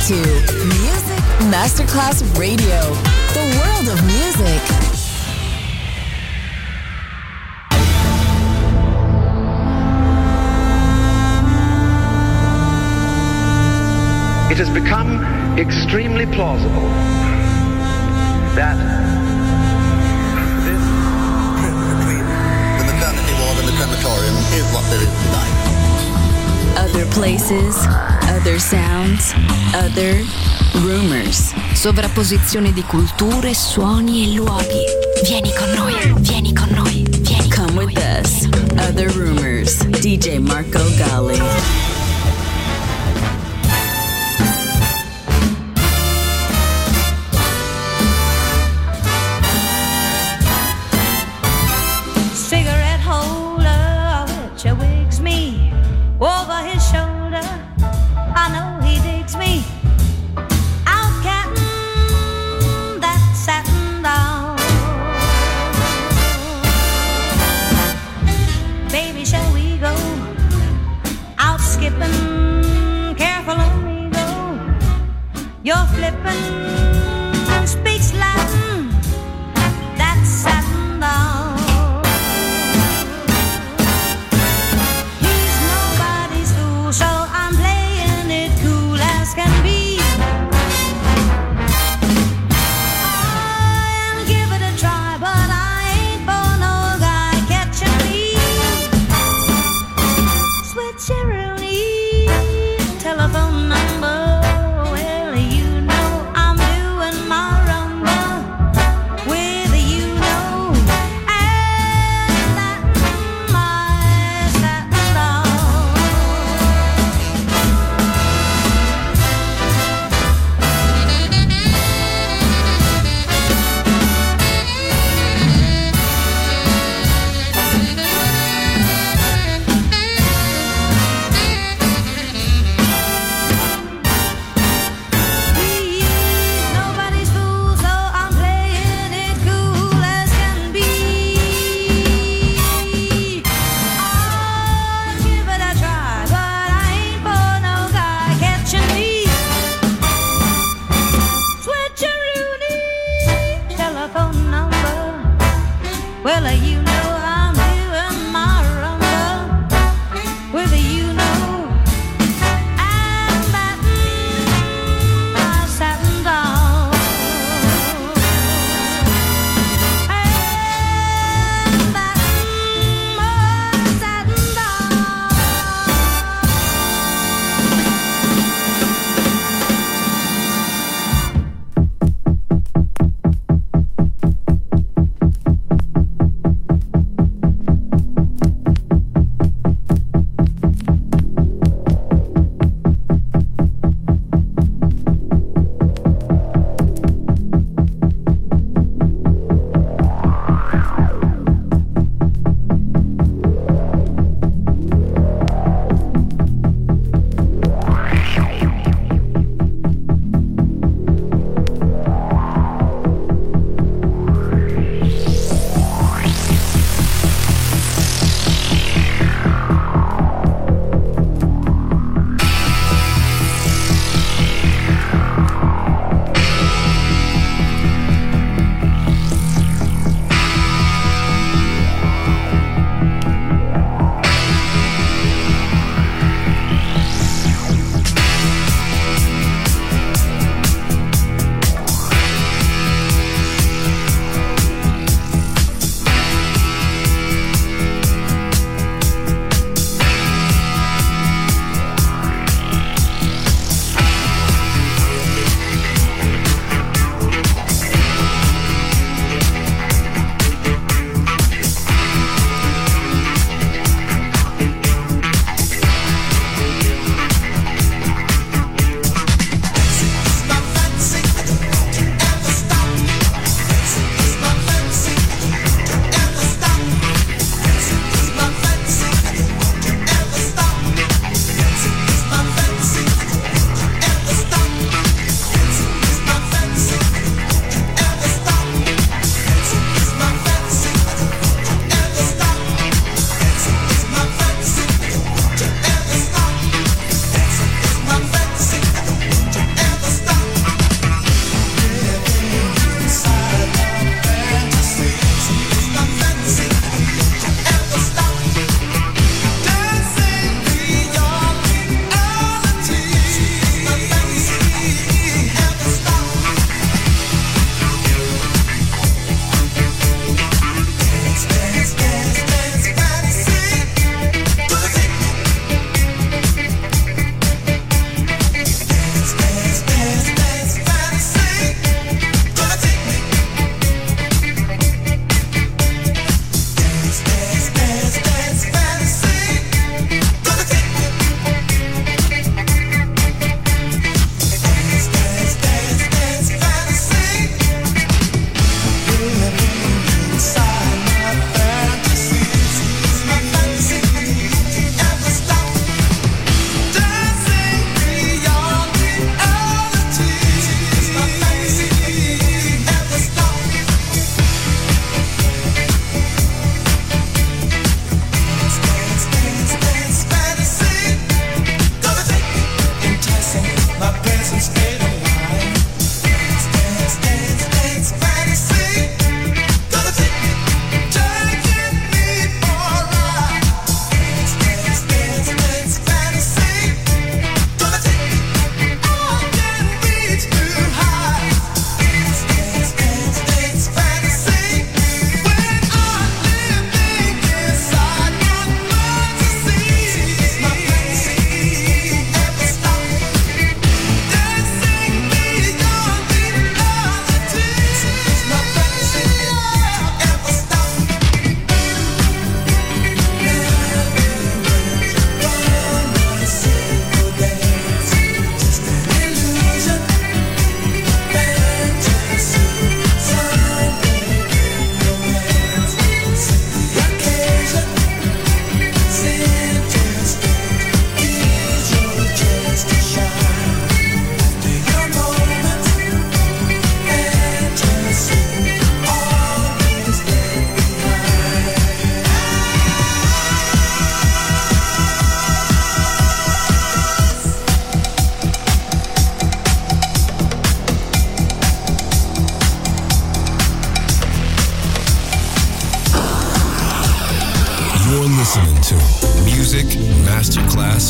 to Music Masterclass Radio, the world of music. It has become extremely plausible that this between the maternity ward and the crematorium is what there is tonight. Other places, other sounds, other rumors. Sovrapposizione di culture, suoni e luoghi. Vieni con noi, vieni con noi, vieni con Come noi. with us. Other rumors. DJ Marco Gally. Cigarette holder, which wigs me over his shoulder. I know he digs me. Out cattin' that satin down. Baby, shall we go out skipping? Careful on me go. You're flippin', speaks Latin. That satin down. So I'm playing it cool as can be. I'll give it a try, but I ain't for no guy catching me. Switcheroo, telephone number. Well, you know I'm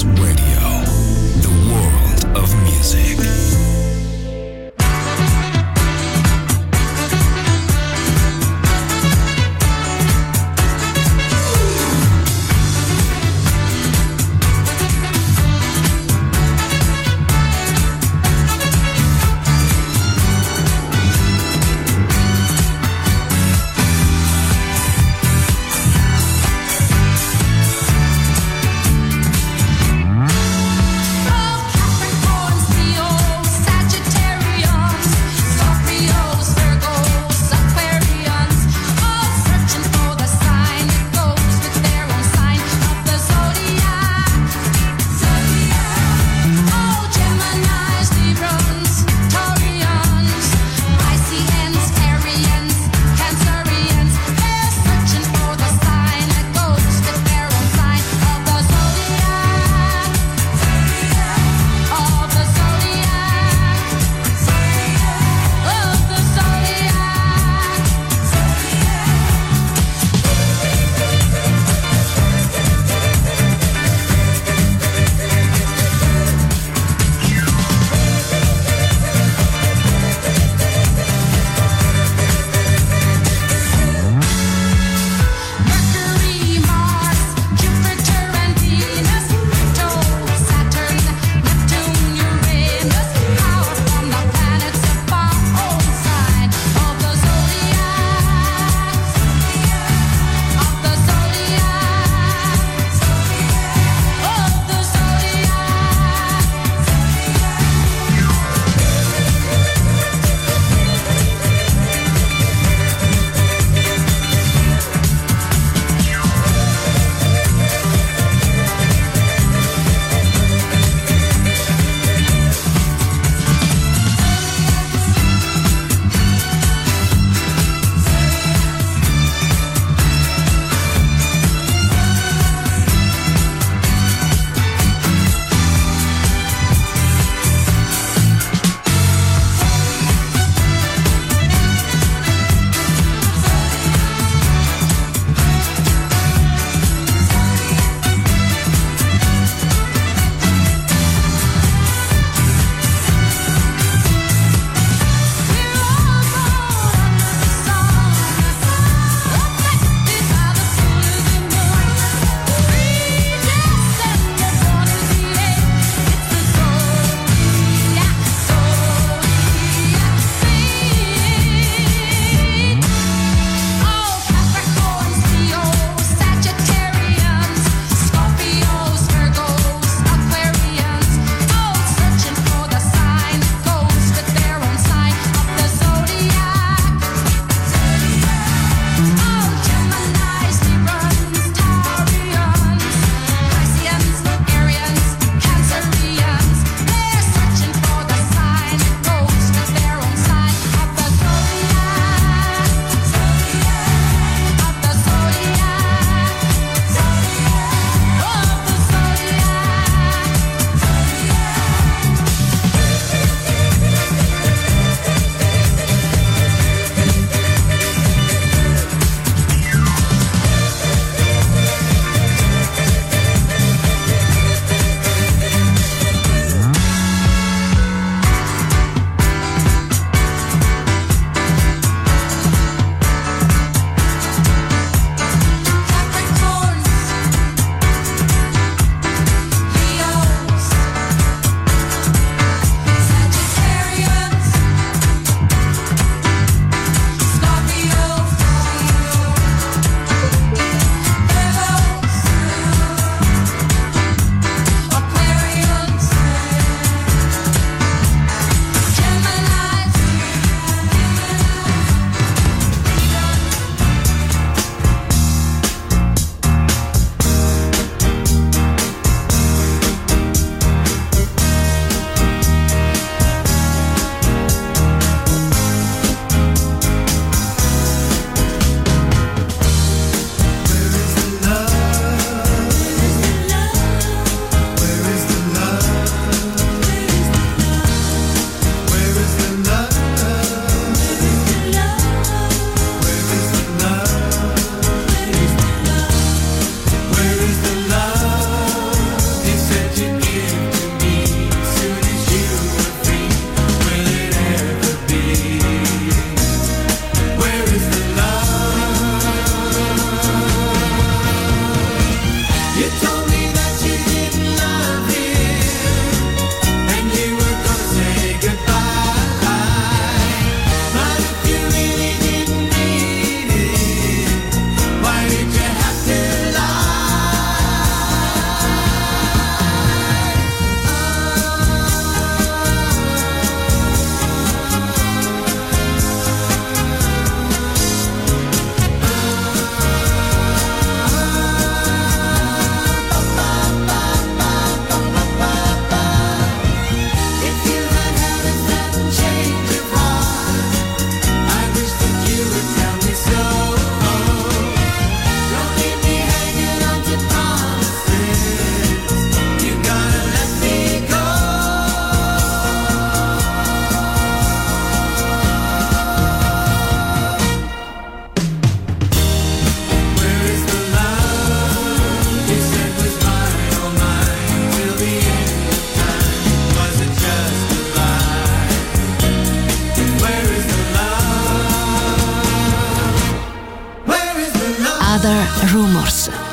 Masterclass Radio, the world of music.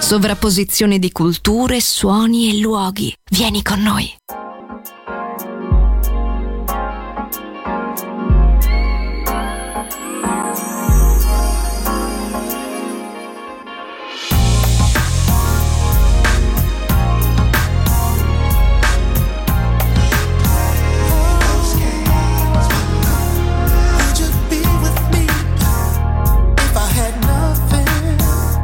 Sovrapposizione di culture, suoni e luoghi. Vieni con noi.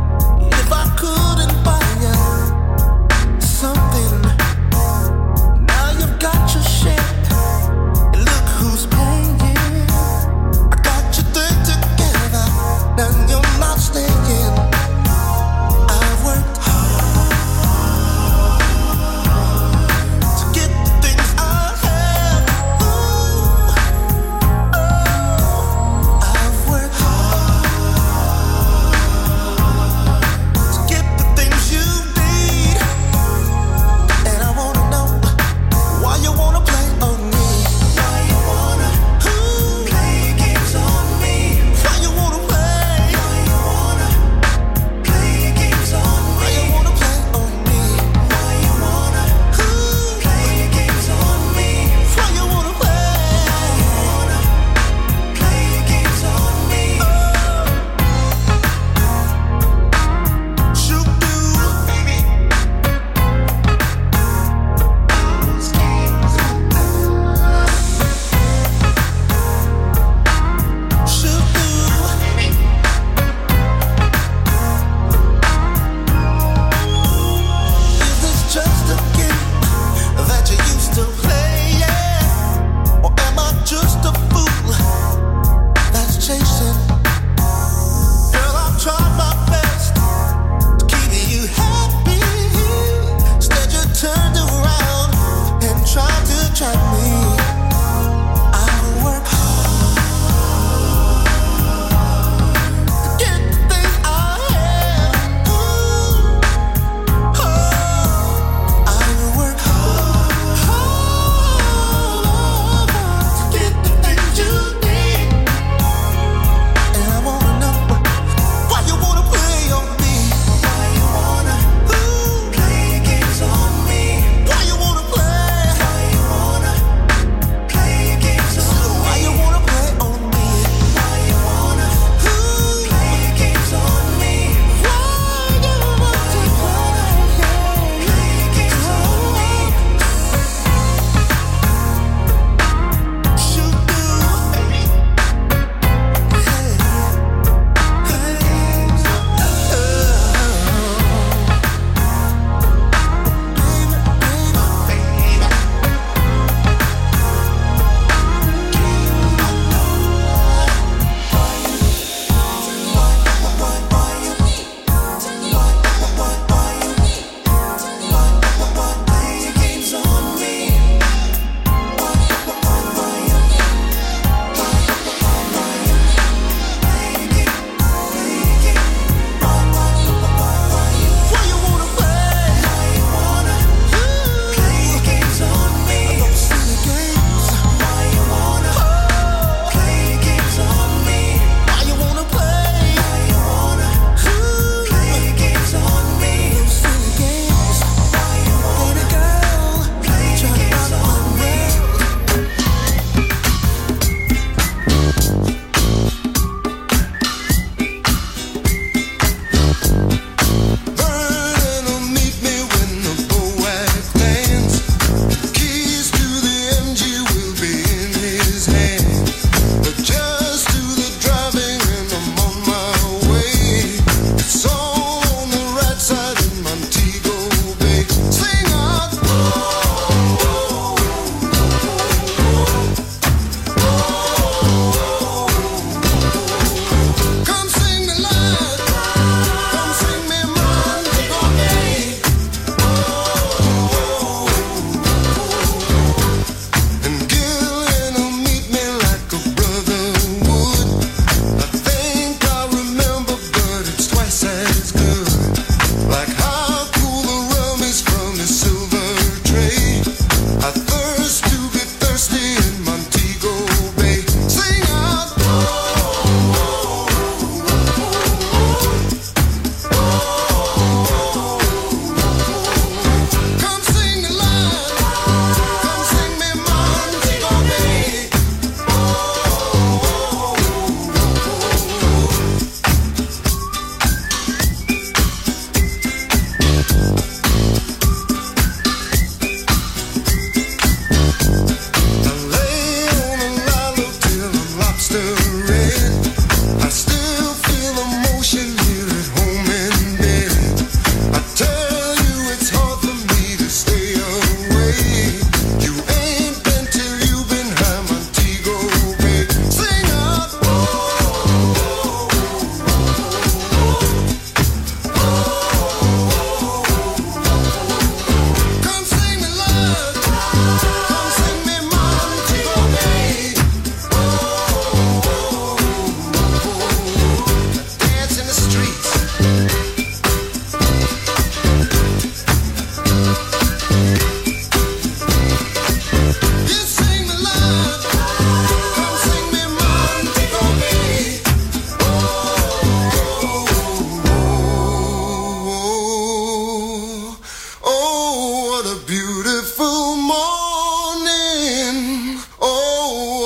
Something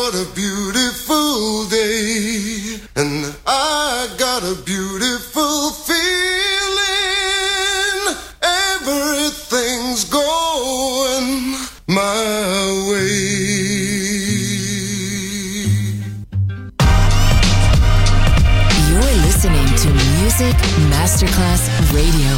got a beautiful day, and I got a beautiful feeling. Everything's going my way. You're listening to Music Masterclass Radio.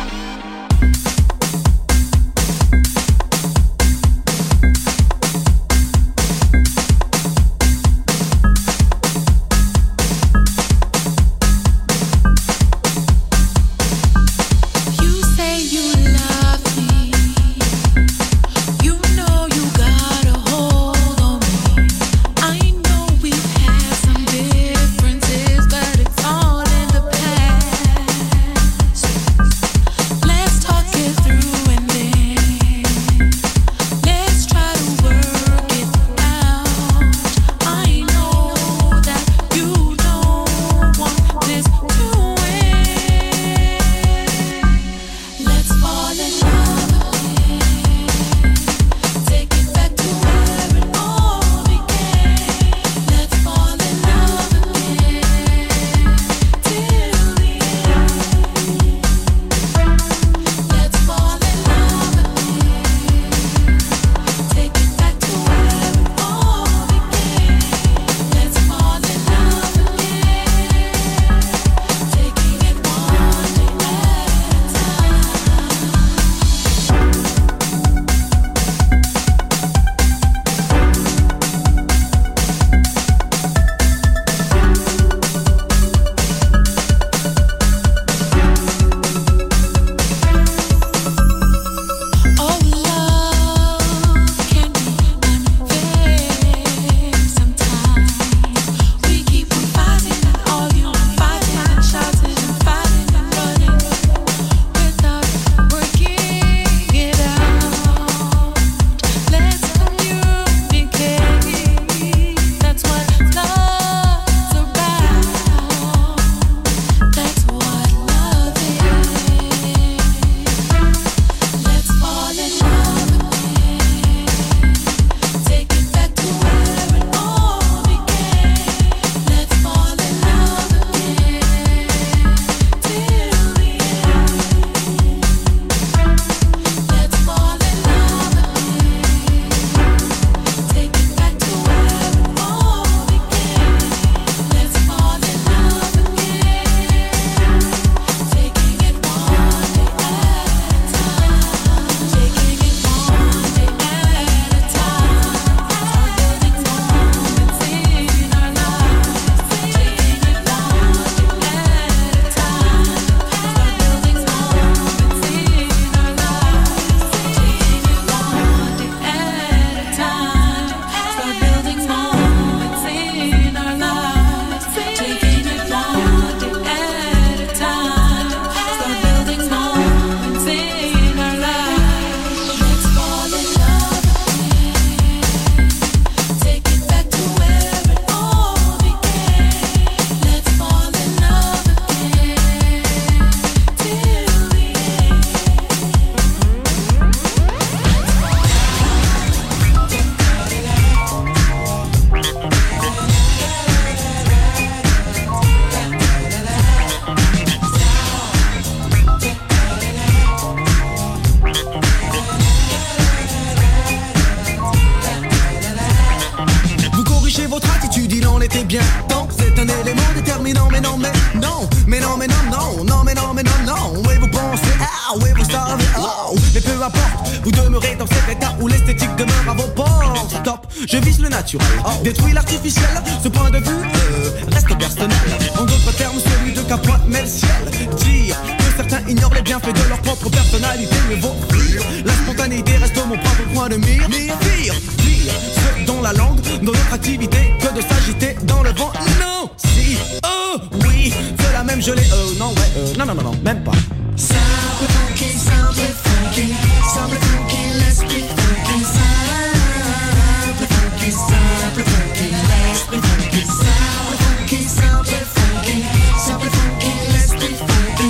Détruis l'artificiel, ce point de vue reste personnel. En d'autres termes, celui de qu'appointe-met le ciel. Dire que certains ignorent les bienfaits de leur propre personnalité, mieux vaut fuir. La spontanéité reste mon propre point de mire. Dire ce dont la langue, dans notre activité, que de s'agiter dans le vent. Non, si, oh, oui, c'est la même gelée. Non, ouais, non, même pas. Simple funky, simple funky, simple funky, let's be funky. Simple funky, simple funky, let's be funky. Simple funky, simple funky, simple funky, let's be funky.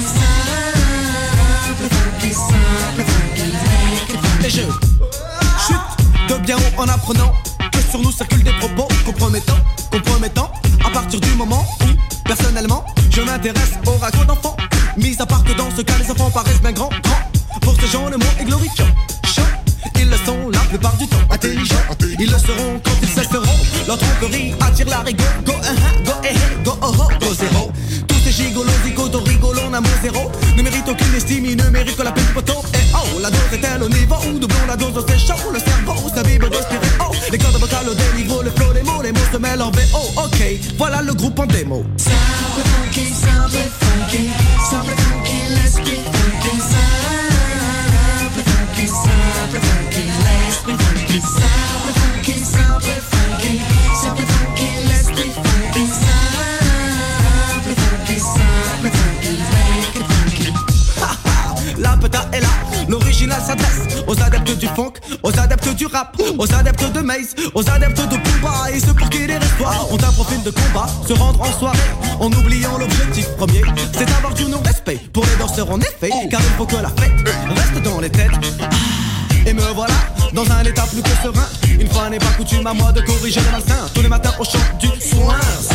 Simple funky, simple funky, make it funky. Et je chute de bien haut en apprenant que sur nous circulent des propos compromettants. À partir du moment où, personnellement, je m'intéresse au ragot d'enfants. Mis à part que dans ce cas, les enfants paraissent bien grands. Pour ces gens, le mot est glorifiant. Ils le sont la plupart du temps intelligents. Ils le seront quand ils cesseront. Leur tromperie attire la rigueur. Go, go, oh, go, zéro. Tous ces gigolos, zigotos, rigolos, n'amour zéro. Ne méritent aucune estime, ils ne méritent que la peine du poteau. Et oh, la dose est-elle au niveau où doublons la dose, c'est chaud. Le cerveau, sa vibre respirer. Oh, les cordes vocales au déniveau, le flow, les mots se mêlent en VO. Ok, voilà le groupe en démo. Simple funky, simple funky, simple funky, let's be funky. Simple funky, simple funky, let's be funky. Simple funky, simple funky, simple funky, let's be funky. Simple funky, simple funky, make it funky. La peta est là, l'original s'adresse aux adeptes du funk, aux adeptes du rap, aux adeptes de Maze, aux adeptes de Booba et ceux pour qui les histoires ont un profil de combat, se rendre en soirée en oubliant l'objectif premier, c'est d'avoir du non-respect pour les danseurs en effet, car il faut que la fête reste dans les têtes. Et me voilà dans un état plus que serein. Une fois n'est pas coutume à moi de corriger le malsain. Tous les matins au chant du soin.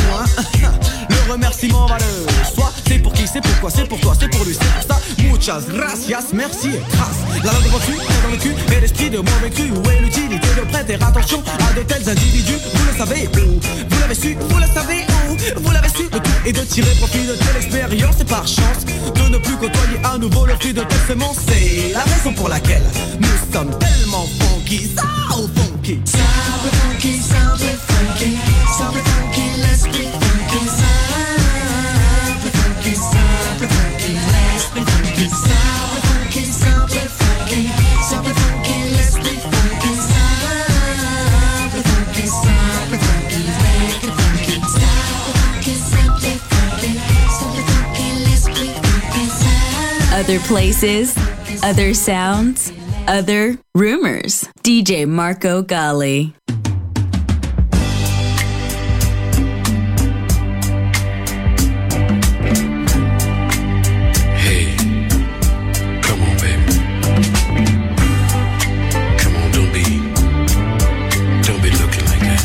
Le remerciement va le soi. C'est pour qui, c'est pourquoi, c'est pour toi, c'est pour lui, c'est pour ça. Muchas gracias, merci et grâce. La langue refus est dans le cul et l'esprit de mauvais cru. Où est l'utilité de prêter attention à de tels individus? Vous le savez où? Vous l'avez su, vous le savez où? Vous l'avez su, le tout est de tirer profit de telle expérience et par chance de ne plus côtoyer à nouveau le fruit de telle semence. C'est la raison pour laquelle nous sommes tellement funky, so funky. Simple funky, simple funky, simple funky, let's be funky. Simple funky, simple funky, let's be funky. Simple funky, simple funky, simple funky, let's be funky. Simple funky, simple funky, make it funky. Simple funky, simple funky, simple funky, let's be funky. Other places, other sounds, other rumors. DJ Marco Gally. Hey, come on, baby. Come on, don't be looking like that.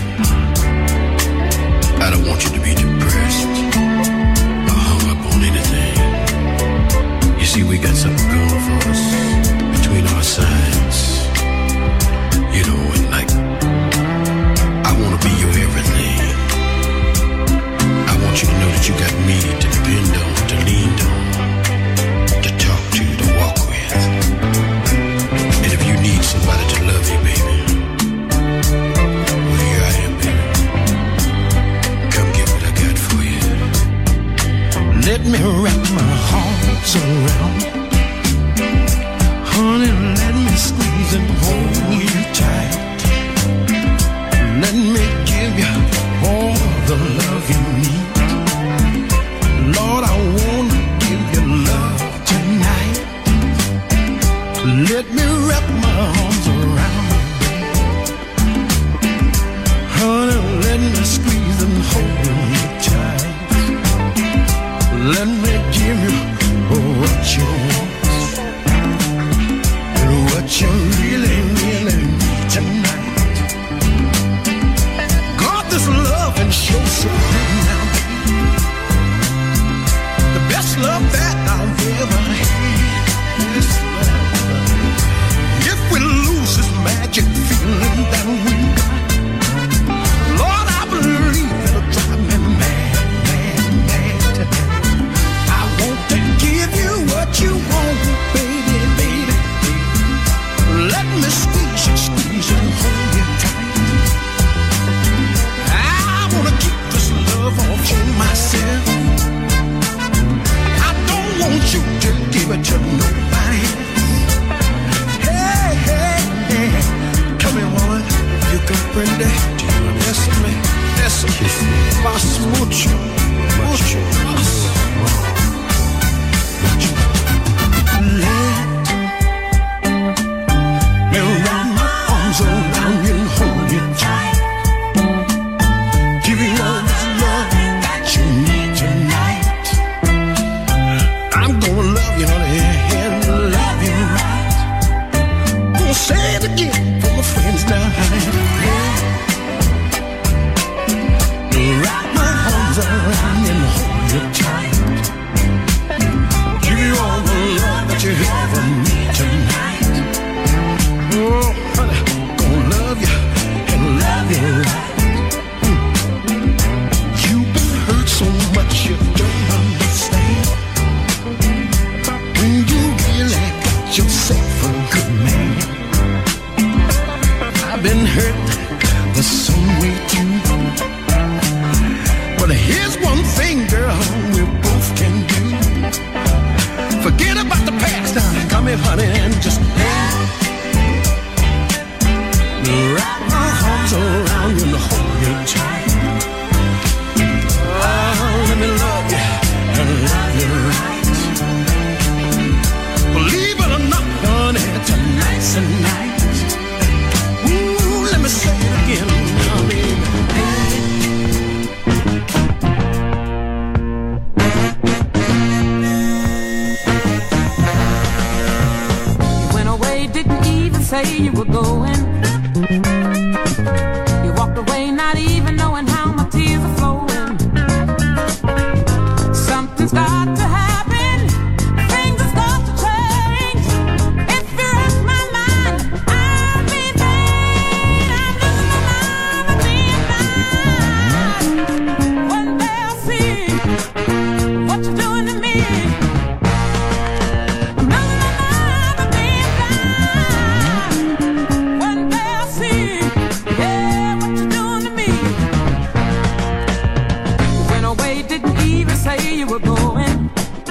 I don't want you to be depressed or hung up on anything. You see, we got something going for us between our sides. You know, and like, I wanna be your everything. I want you to know that you got me to depend on, to lean on, to talk to, to walk with. And if you need somebody to love you, baby, well, here I am, baby. Come get what I got for you. Let me wrap my arms around, honey, let me squeeze and hold you tight. Let me give you all the love you need. Lord, I wanna give you love tonight. Let me wrap my arms around you, honey, let me squeeze and hold you tight. Let me give you what you want and what you really, really need tonight. God, this love and show so good now. The best love that I've ever had. This love. If we lose this magic feeling that we got, Lord, I believe it'll drive me mad, mad, mad tonight. I want to give you what you want, baby, baby. Let me squeeze and hold you tight. I wanna keep this love all for myself. I don't want you to give it to nobody else. Hey, hey, hey, come here, woman. You can bring that. Bésame, bésame, más mucho, mucho más. Let me wrap my arms around you and hold you tight. Give you all this love that you need tonight. I'm gonna love you, honey, and love you right. Gonna say it again for my friends now, honey. not even knowing how my tears are flowing. Something's got to happen, things have got to change. If you wreck my mind, I'll be vain. I'm losing my mind and being blind. One day I'll see what you're doing to me. I'm losing my mind and being blind. One day I'll see, yeah, what you're doing to me. You went away, didn't even say you were going.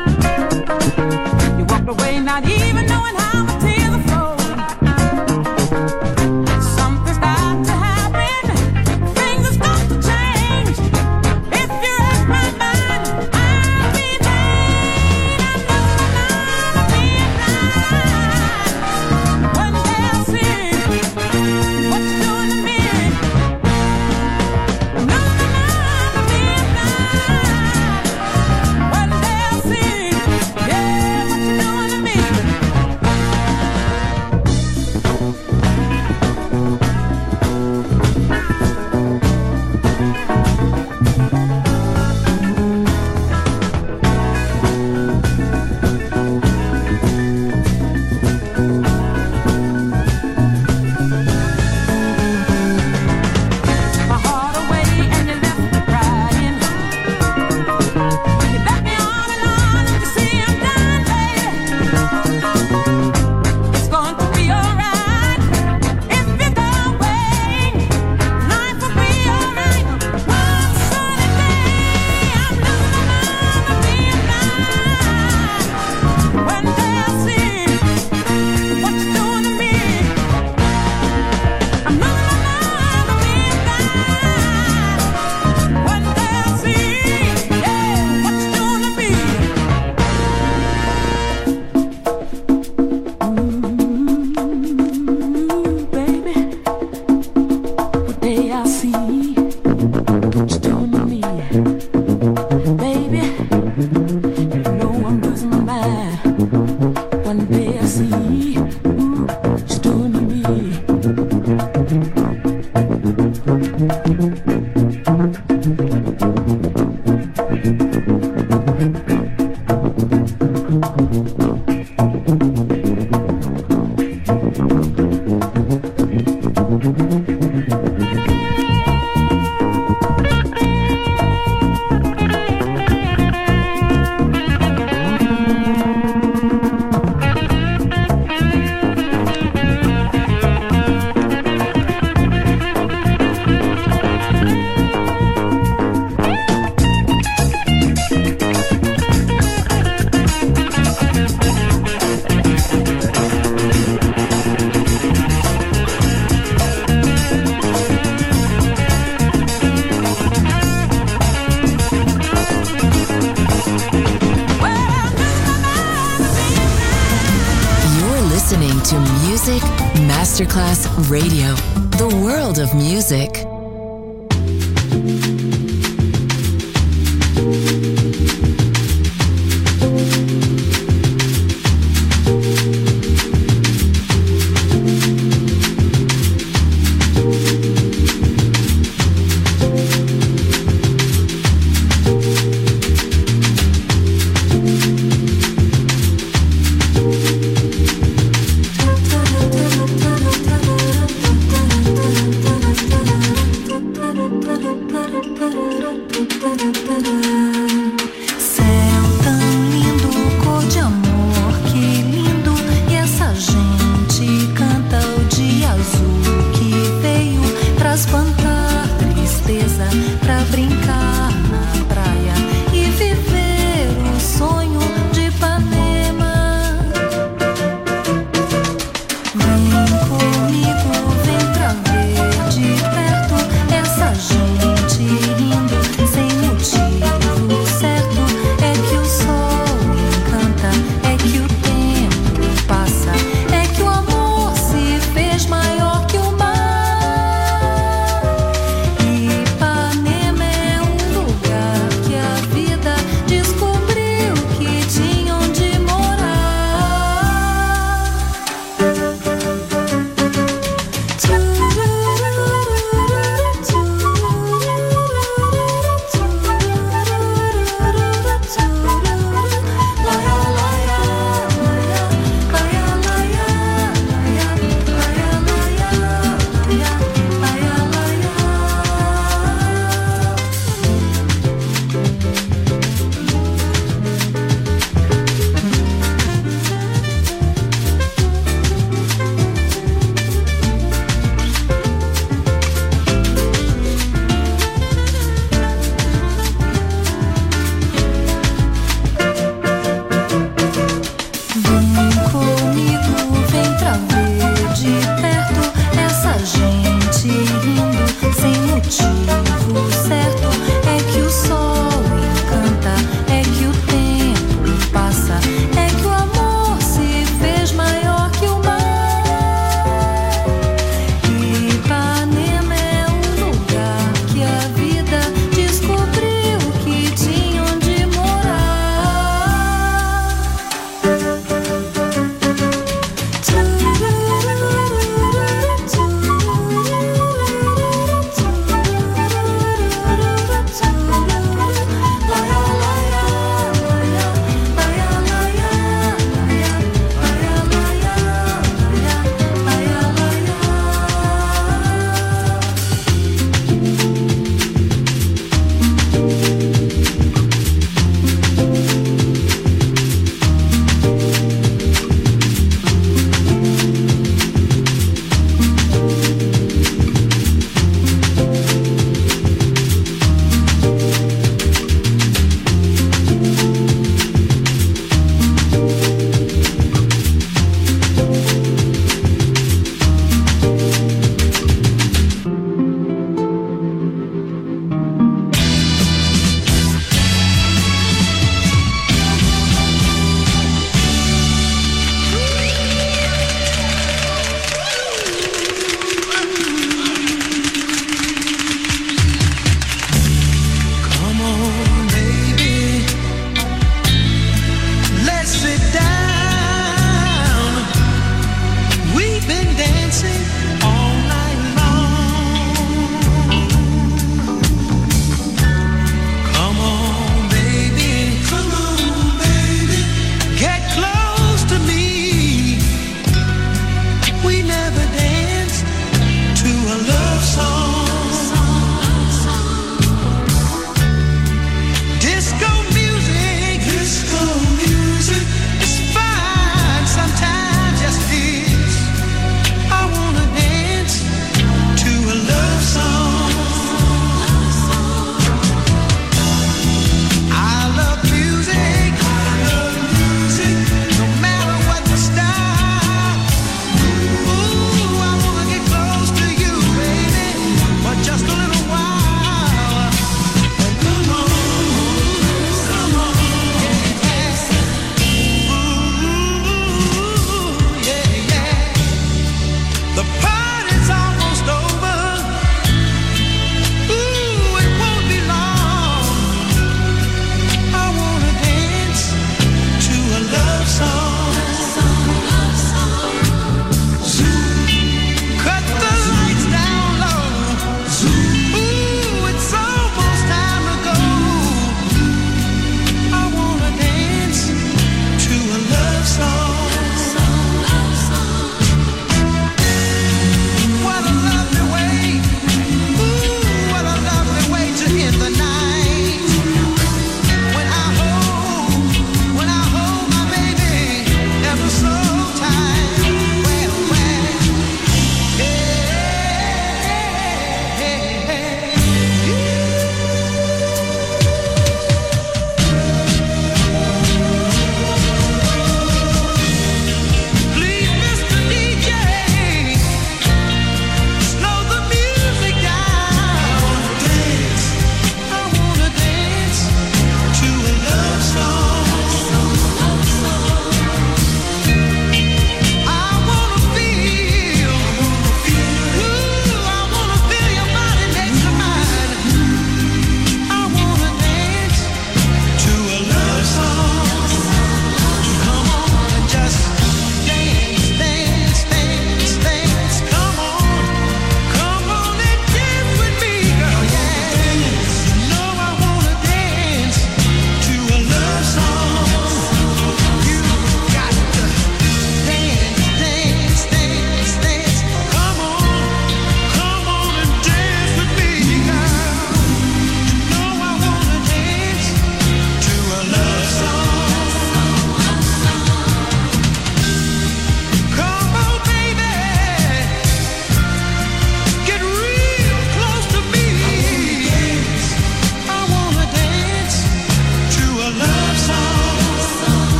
You walked away, not even knowing how my tears are flowing. Something's got to happen, things have got to change. If you wreck my mind, I'll be vain. I'm losing my mind and being blind. One day I'll see what you're doing to me. I'm losing my mind and being blind. One day I'll see, yeah, what you're doing to me. My heart away and you left me crying. You left me on and you see I'm done, baby. It's going to be alright if you go away. Life will be alright one sunny day. I'm losing my mind and being blind. One day I'll see what you're doing to me. I'm losing my mind and being blind. One day I'll see, yeah, what you're doing to me. Baby, one day I'll see what you're doing to me. Baby, you know I'm losing my mind. One day I'll see what you're doing to me. You're listening to Music Masterclass Radio, the world of music. Maior que o mar, Ipanema é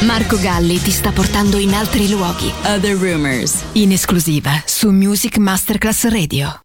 Marco Galli ti sta portando in altri luoghi. Other Rumors. In esclusiva su Music Masterclass Radio.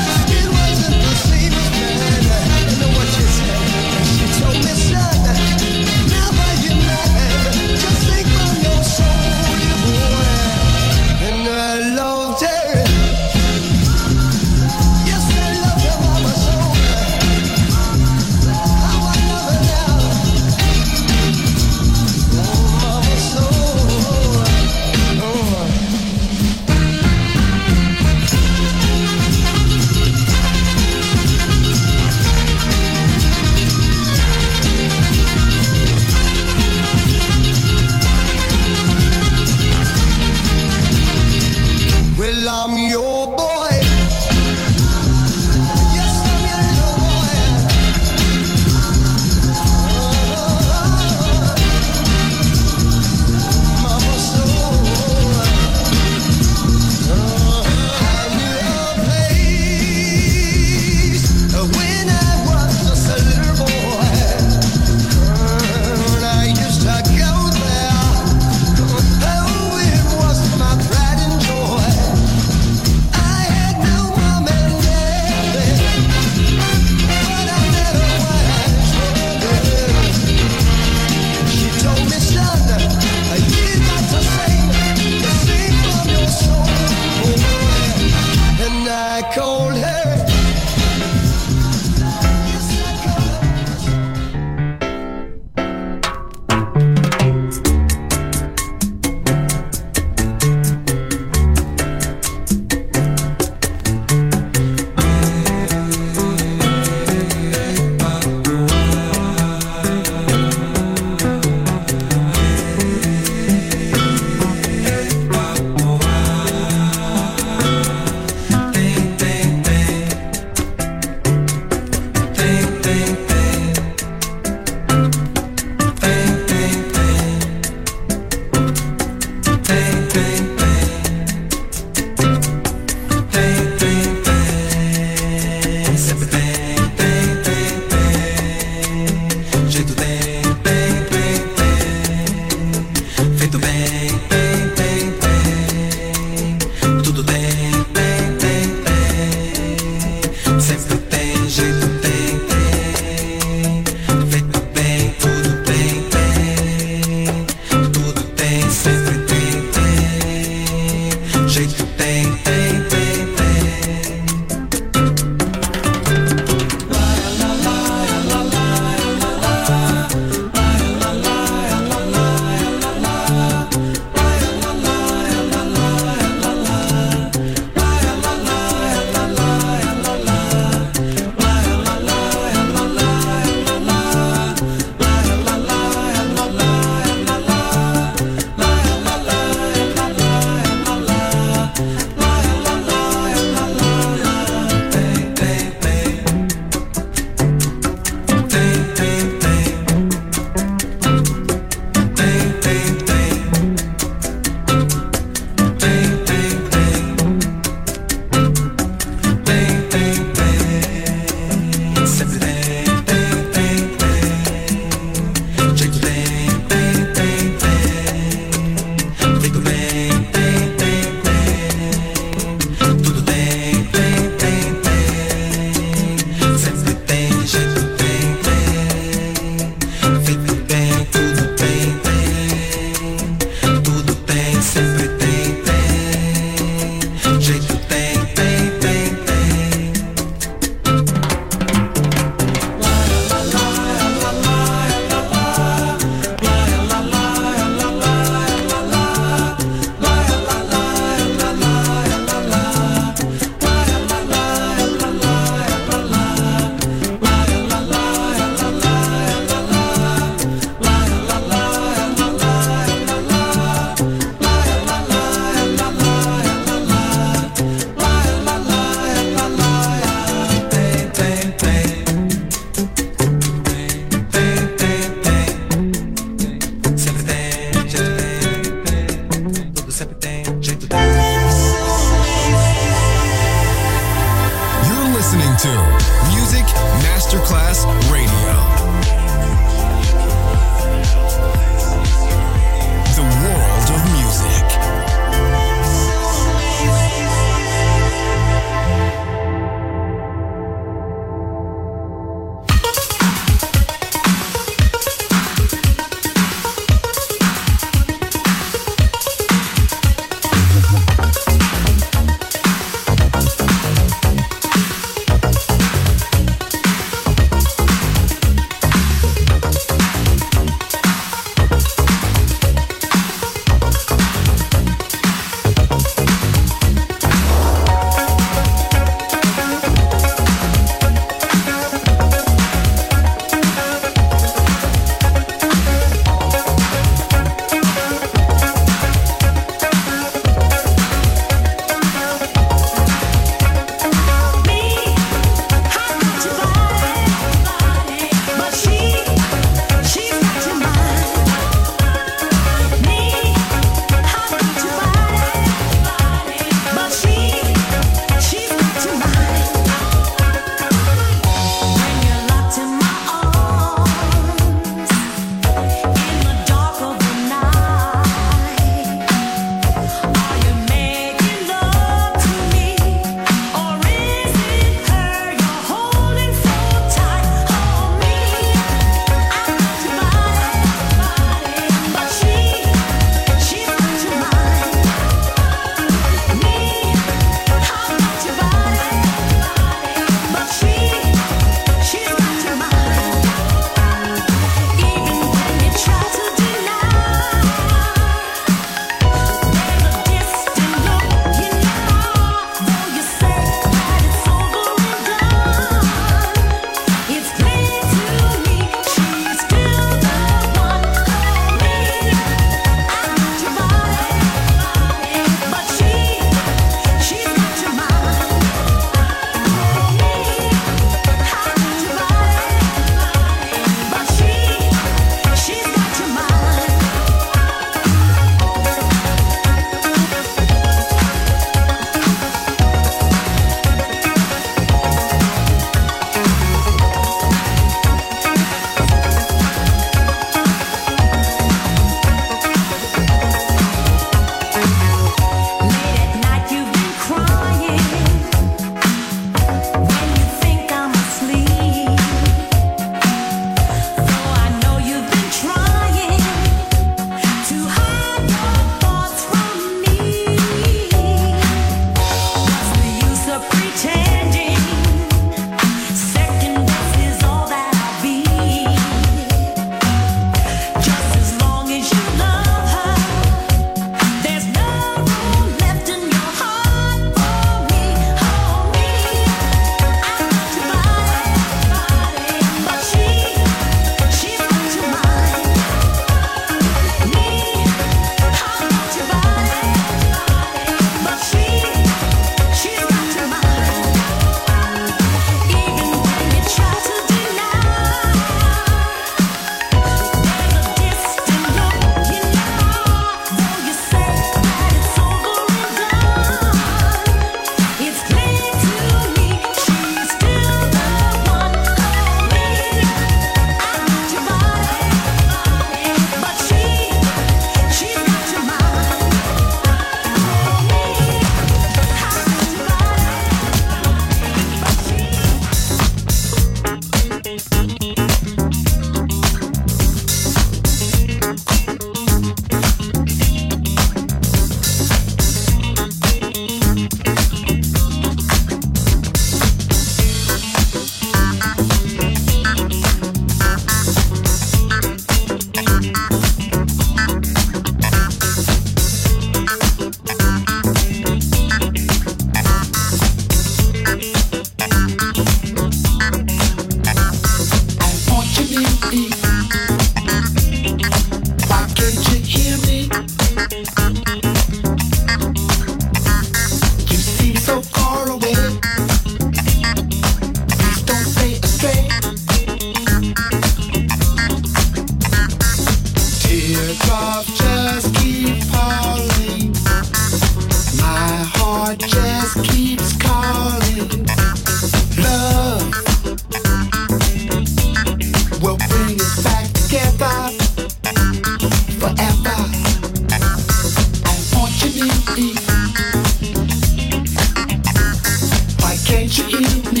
can't you hear me?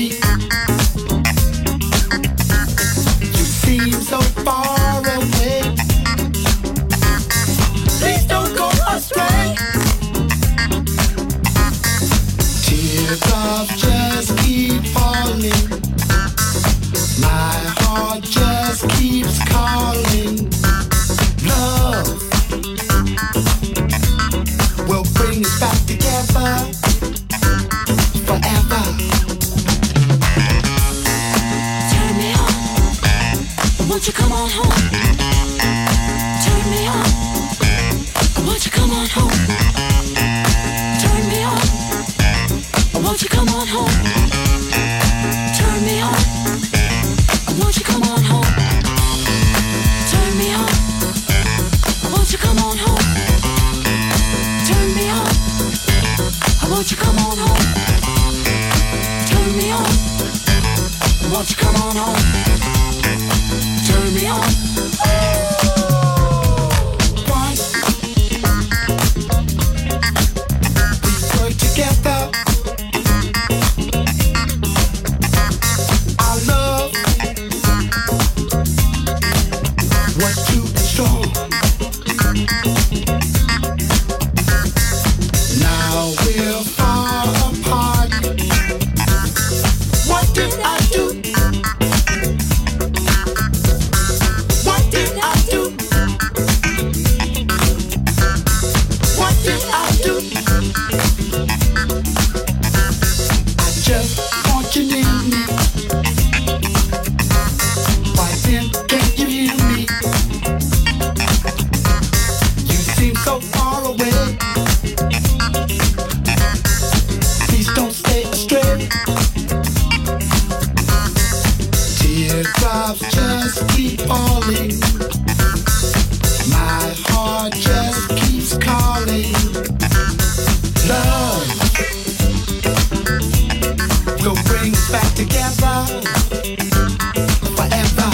You seem so far away. Please don't go astray. Teardrops just keep falling. My heart just keeps calling. Love will bring us back together forever. Turn me on, won't you come on home? Turn me on, won't you come on home? Turn me on, won't you come on home? Turn me on, won't you come on home? Turn me on, won't you come on home? Turn me on, won't you come on home? Turn me on, won't you come on home? Turn me on. Once we were together, our love was too strong. Now we're far apart. What did I do? What did I do? What did I do? I just want you near me. Why then can't you hear me? You seem so far away. Please don't stay astray. Teardrops just keep falling. My heart just keeps calling. Love will bring us back together forever.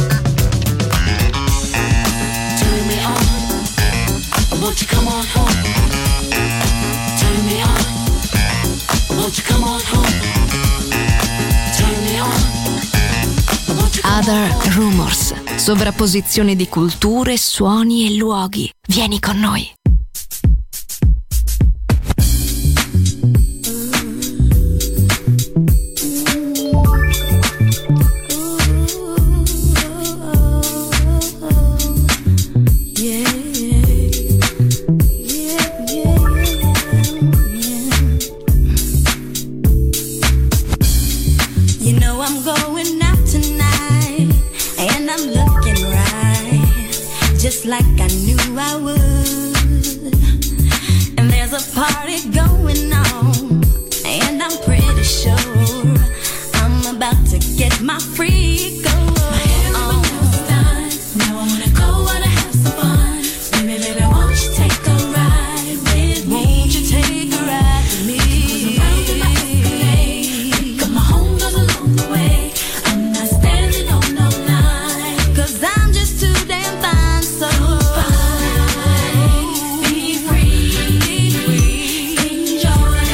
Turn me on, won't you come on home? Turn me on, won't you come on home? Turn me on, won't you come on home? Other Rumors, sovrapposizione di culture, suoni e luoghi. Vieni con noi. You know I'm going out tonight, and I'm looking right, just like I knew I would. And there's a party going on, and I'm pretty sure I'm about to get my freak on. Now I wanna go, wanna have some fun. Baby, baby, won't you take a ride with me? Won't you take a ride with me? Got my home goes along the way. I'm not standing on no line, 'cause I'm just too damn fine. So fine, be free, enjoy.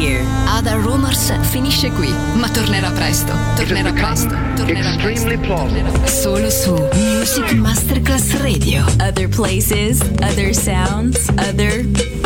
here. Other Rumors finisce qui, ma tornerà presto. Tornerà presto. Tornerà Extremely plausible. solo su Music Masterclass Radio. Other places, other sounds, other